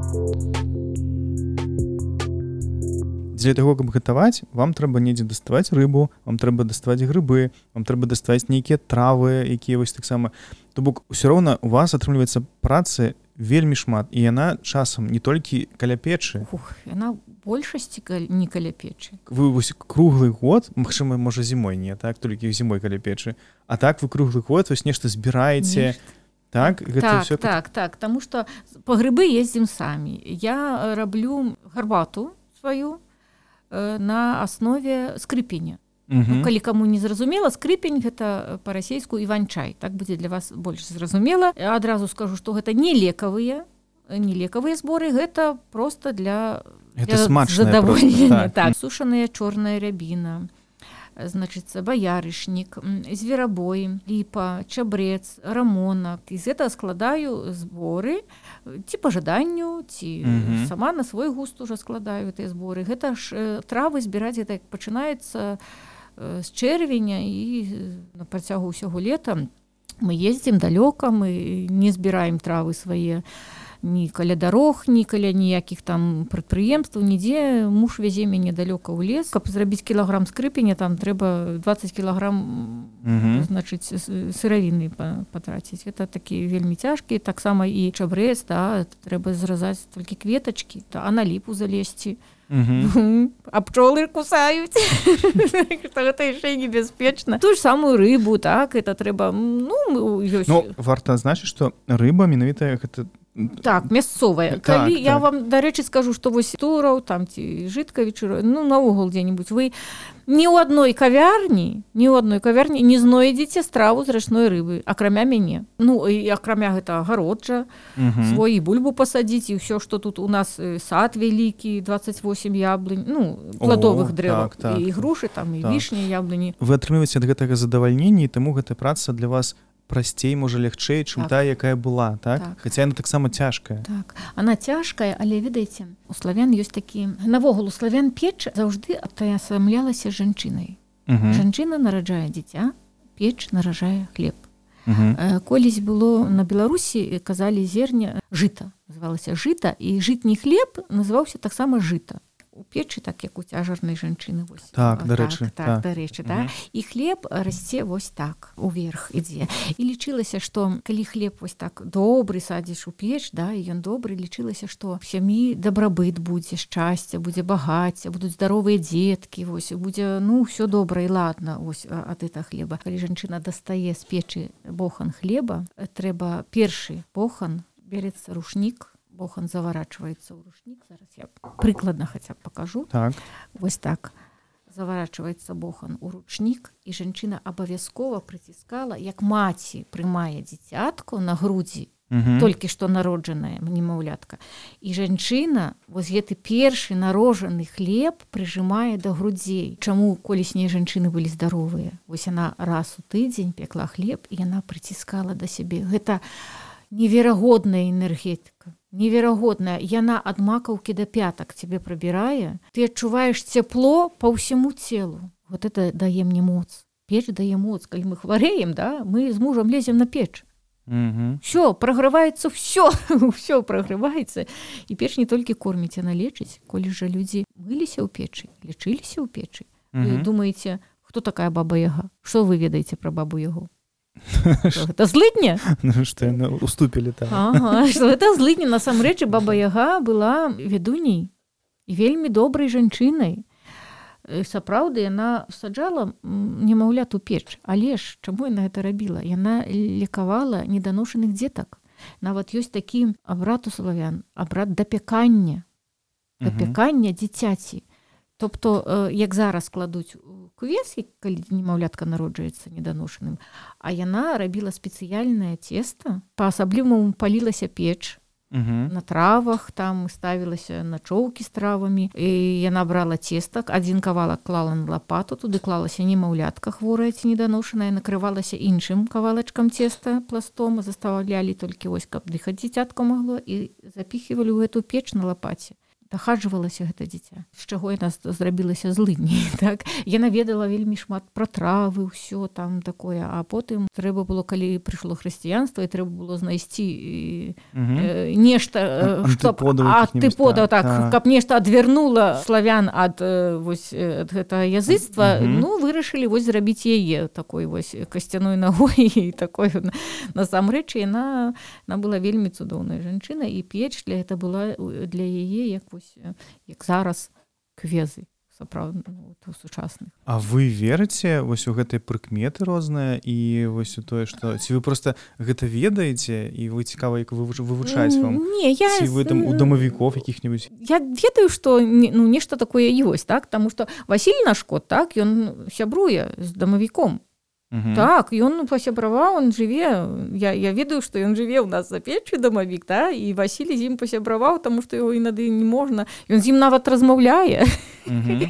Для таго, каб гатаваць, вам трэба недзе даставаць рыбу, вам трэба даставаць грыбы, вам трэба даставаць нейкія травы, якія вось таксама. То бок усё роўна у вас атрымліваецца працы вельмі шмат, і яна часам не толькі каля печы.
Ух, яна большасці каль- не каля печы.
Вы вось круглы год, магчыма, можа зімой не, так, толькі зімой каля печы. А так вы круглы год вось нешта збіраеце.
Нешта.
Так, гэта
Так,
ўсё
так, так, таму што па грыбы ездзім самі. Я э, раблю гарбату сваю э, на аснове скрыпеня.
Мгм.
Ну, калі каму не зразумела, скрыпень гэта па-расейску іван-чай. Так будзе для вас больш зразумела. Адразу скажу, што гэта не лекавыя, не лекавыя зборы, гэта проста для,
Гэта
для
смачнае
задаволення.
проста, так.
Так, сушаная чорная рябіна, значыцца баярышнік, м, зверабой, ліпа, чабрэц, рамонак. І з гэтага складаю зборы э, ці па жаданню, ці
Мгм.
сама на свой густ уже складаю гэтыя зборы. Гэта ж э, травы збіраць, гэта як пачынаецца э, з чэрвеня, і э, на працягу ўсяго лета мы ездзім далёка, мы не збіраем травы свае ні каля дарог, ні каля ніякіх там прадпрыемстваў, нідзе. Муж вязе мяне далёка ў лес. Каб зрабіць кілаграм скрыпеня, там трэба дваццаць кілаграм
Мгм.
значыць с- сыравіны па- патраціць. Гэта такі вельмі цяжкі. Таксама і чабрэц, да, трэба зразаць толькі кветачкі, а на ліпу залезці.
Мгм.
А пчолы кусаюць. Што гэта яшчэ і небяспечна. Тую ж самую рыбу, так, это трэба, ну, ёсць.
Ну, варта адзначыць, што рыба менавіта гэта
Так, мясцовая.
Так,
Калі я
так.
вам, дарэчы, скажу, што вось тураў, там ці жыткавічы, ну, наогул дзе-небудзь, вы ні ў адной кавярні, ні ў адной кавярні не знойдзеце страву з рачной рыбы, акрамя мяне. Ну, і акрамя гэта агароджа,
Мгм.
свой і бульбу пасадзіць, і ўсё, што тут у нас э, сад вялікі, дваццаць восем яблынь, ну, пладовых
О,
дрэваў,
так, так.
і грушы, там, і
Так.
вішні, яблыні.
Вы атрымліваеце ад гэтага задавальнення, і таму гэта праца для вас прасцей, можа, лягчэй, чым
Так.
тая, якая была, так?
Так.
Хаця яна таксама цяжкая.
Так, она цяжкая, але ведаеце, у славян ёсць такі, навогул у славян печ заўжды атаясамлялася жанчынай.
Мгм.
Жанчына нараджае дзіця, печ наражае хлеб.
Мгм.
Э, Колісь было на Беларусі, казалі зерня жыта, называлася жыта, і жытні хлеб называўся таксама жыта. У печы, так як у цяжарнай жанчыны, вось.
Так,
О,
дарэчы,
так, так,
так.
дарэчы, да.
Мгм.
І хлеб расце вось так, уверх ідзе. І лічылася, што калі хлеб вось так добры садзіш у печ, да, і ён добры, лічылася, што в сям'і дабрабыт будзе, шчасце, будзе багацце, будуць здаровыя дзеткі, вось, будзе, ну, ўсё добра і ладна, вось, а- ад этого хлеба. Калі жанчына дастае з печы бохан хлеба, э, трэба першы бохан, берецца рушнік, бохан заварачваецца ў рушнік. Зараз я прыкладна хаця б пакажу.
Так.
Вось так. Заварачваецца бохан у ручнік, і жанчына абавязкова прыціскала, як маці прымае дзіцятку на грудзі,
Мгм.
толькі што народжаная немаўлятка. І жанчына вось гэты першы народжаны хлеб прыжымае да грудзей. Чаму коліснія жанчыны былі здаровыя? Вось яна раз у тыдзень пекла хлеб, і яна прыціскала да сябе. Гэта неверагодная энергетика. Неверагодная. Яна ад макаўкі да пятак цябе прабірае. Ты адчуваеш цяпло па ўсяму целу. Вот это дае мне моц. Печ дае моц. Калі мы хварэем, да, мы з мужам лезем на печ.
Мгм.
Все, праграваецца все, все праграваецца. І печ не толькі корміць, яна лечыць. Колі жа людзі мыліся ў печы, лечыліся ў печы. Вы
Мгм.
думаеце, хто такая баба Яга? Што вы ведаеце пра бабу Ягу? Гэта злыдня?
Ну, што яны уступілі, так.
Ага, што гэта злыдня. Насамрэч, Баба Яга была ведуняй і вельмі добрай жанчынай. Сапраўды, яна саджала немаўлят у печ. Але ж, чаму яна гэта рабіла? Яна лекавала неданошаных дзетак. Нават ёсць такі абрад у славян, абрад дапякання. Дапякання дзіцяці. Тобто, як зараз кладуць кувес, калі немаўлятка народжаецца неданошаным, а яна рабіла спецыяльнае цеста, па-асабліваму палілася печ, uh-huh. на травах, там ставілася начоўкі з травамі, і яна брала цеста, адзін кавалак клала на лапату, туды клалася немаўлятка хворая ці неданошаная, накрывалася іншым кавалачкам цеста пластом, заставлялі толькі вось, каб дыхаць дзіцятка магло, і запіхівалі ў гэту печ на лапаце. Дахаджвалася гэта дзіця, з чаго яна зрабілася злыдняй, так? Яна ведала вельмі шмат пра травы, ўсё там такое, а потым трэба было, калі прыйшло хрысціянства, і трэба было знайсці угу. э, нешта, антыподаў, так, а. Каб нешта адвярнула славян ад, вось, ад гэтага языцтва, угу. ну, вырашылі вось зрабіць яе такой вось касцяной нагой, і такой, насамрэч, яна, яна была вельмі цудоўная жанчына, і печ для гэта была для яе, як вось як зараз квезы сапраўдна ну, сучасных.
А вы верыце вось у гэтай прыкметы розныя і вось у тое, што ці вы проста гэта ведаеце і вы цікава як вывучаць вам?
Не, я...
Ці вы там у дамавікоў якіх-небудзь?
Я ведаю, што ну, нешта такое ёсць, так? Таму што Васіль наш кот, так, ён сябруе з дамавіком. Uh-huh. Так, ён пасябраваў, он жыве, я, я ведаю, што ён жыве ў нас за печчу дамавік, да? І Васіль з ім пасябраваў, таму што яго інады не можна. Ён з ім нават размаўляе. Uh-huh.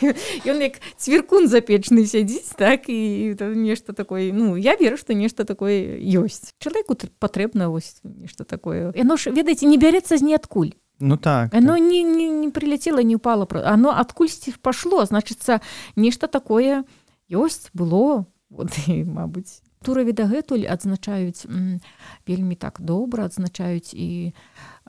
Ён як цвіркун запечны сядзіць, так, і нешта такое, ну, я веру, што нешта такое ёсць. Чалавеку патрэбна вось нешта такое. Яно ж, ведаеце, не бярэцца з ніадкуль.
Ну так.
Оно
так.
Не, не, не прилетело, не упало. Оно адкульсьці пашло, значыцца, нешта такое ёсць, было. Вот, і, мабыць, Тураве дагэтуль адзначаюць м, вельмі так добра, адзначаюць і э,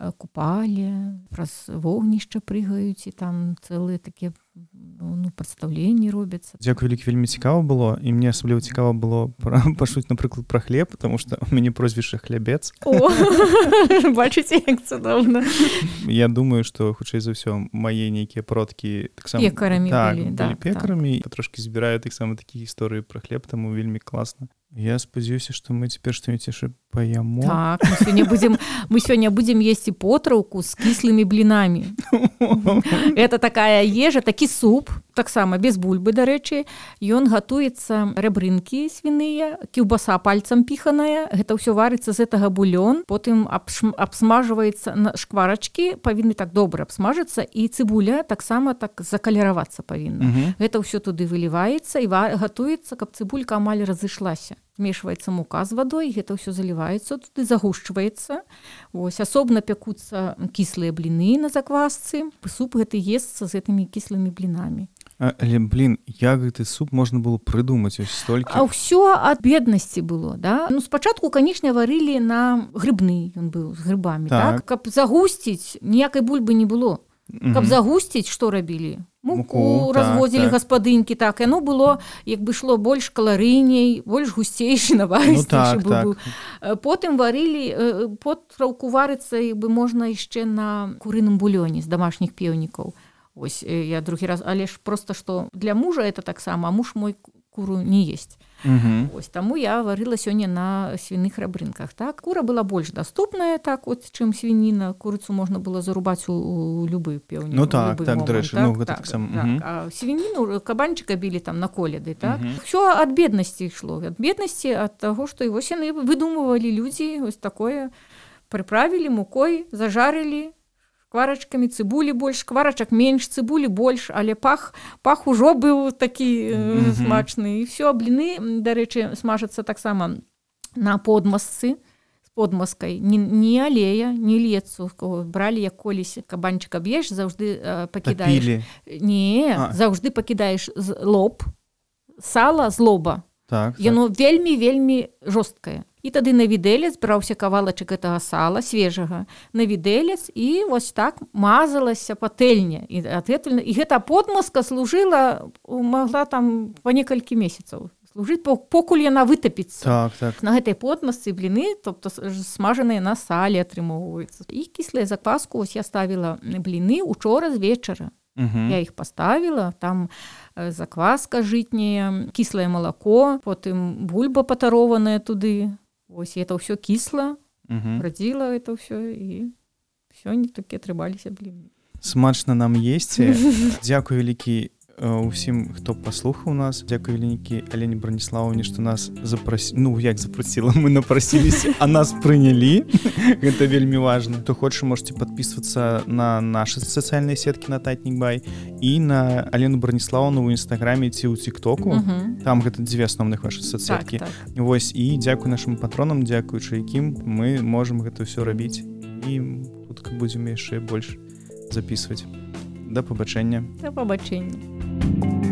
купалі, праз вогнішча прыгаюць, і там цэлыя такія ну, прадстаўленні робяцца.
Дзякуй, вялікі, вельмі цікава было, і мне асабліва цікава было пачуць, напрыклад, пра хлеб, потому што у мяне прозвішча Хлябец.
О, бачыце, як цудоўна.
Я думаю, што, хутчэй за ўсё, мае нейкія продкі таксама...
Пекарамі
так,
былі.
Так, былі пекарамі,
так.
Патрошкі збіраю таксама такія гісторыі пра хлеб, таму вельмі класна. Я спадзяюся, што мы цяпер што-нибудь яшчэ паяму.
Так, мы сёння будзем, мы сёння будзем есці потраўку з кіслымі блінамі. Это такая ежа, такі суп, таксама без бульбы, дарэчы. Ён гатуецца рэбрынкі свіныя, кіўбаса пальцам піханая. Гэта ўсё варыцца з гэтага бульон, потым абсмажваецца на шкварачкі, павінны так добра абсмажыцца, і цыбуля таксама так закалеравацца павінна. Uh-huh. Гэта ўсё туды выліваецца і гатуецца, каб цыбулька амаль разышлася. Змешваецца мука з вадой, гэта ўсё заліваецца, туды загушчваецца. Вось, асобна пякуцца кіслыя бліны на заквасцы. Суп гэты есцца з гэтымі кіслымі блінамі.
Але, блін, як гэты суп можна было прыдумаць ось столькі?
А ўсё ад беднасці было, да? Ну, спачатку, канечне, варылі на грыбны, ён быў з грыбамі, так? так? Каб загусціць, ніякай бульбы не было. Каб угу. загусціць, што рабілі? Муку, Муку разводзілі так, так. гаспадынькі, так, яно было, як бы шло больш каларыйней, больш гусцейшы, наварыстейшы ну, так, быў. Так. Потым варылі, потраўку варыцца, як бы можна яшчэ на курыным булёне з дамашніх пеўнікаў. Ось, я другі раз, але ж просто, што для мужа это таксама, а муж мой куру не есть. Угу. Ось, таму я варыла сёння на свіных рабрынках. Так? Кура была больш даступная, так, от, чым свініна. Курыцу можна было зарубаць у, у любы пеўнік.
Ну так, так,
момент,
дарэчы,
так,
ну гэта
так,
так сам.
Так,
угу.
а свініну, кабанчыка білі там на коляды, так? Угу. Всё ад беднасці ішло. Ад беднасці, ад таго, што і вось яны выдумывалі людзі, ось такое, прыправілі мукой, зажарылі, шкварачкамі, цыбулі больш, шкварачак менш, цыбулі больш, але пах, пах ужо быў такі mm-hmm. смачны. І все, бліны, дарэчы, смажацца таксама на подмазцы, з подмазкай. Не, не алея, не лецу. Бралі, як колісь кабанчыка б'еш, заўжды э, пакідаеш.
Тапілі.
Не, а. заўжды пакідаеш лоб, сала з лоба.
Так,
Яно
так.
вельмі-вельмі жорсткае. І тады на відэлец браўся кавалачак гэтага сала свежага, на відэлец, і вось так мазалася патэльня. І, і гэта подмазка служыла, магла там па некалькі месяцаў служыць, покуль яна вытапіцца.
Так, так.
На гэтай подмасцы бліны, тобто смажаныя на салі атрымоўваюцца. І кіслая закваску, ось я ставіла бліны учора з вечара.
Угу.
Я іх паставіла, там закваска жытняя, кіслае малако, потым бульба патарованая туды. Ось это ўсё кісла, угу. радзіла это ўсё і сёння такі атрымаліся бліны.
Смачна нам есці. Дзякуй вялікі усім, хто паслухаў нас. Дзякуй вялікі Алене Браніслаўне, што нас запрасілі. Ну, як запрасіла, мы напрасіліся, а нас прынялі. Гэта вельмі важна. Хто хоча, можете падпісвацца на нашы сацыяльныя сеткі на Татнік.бай і на Алену Браніслаўну ў інстаграме ці ў тиктоку. Uh-huh. Там гэта дзве асноўных вашы соцсеткі. Так, так. Вось, і дзякуй нашым патронам, дзякуючы якім мы можам гэта ўсё рабіць. І хутка будзем яшчэ больш записывать. До побачення.
До побачення.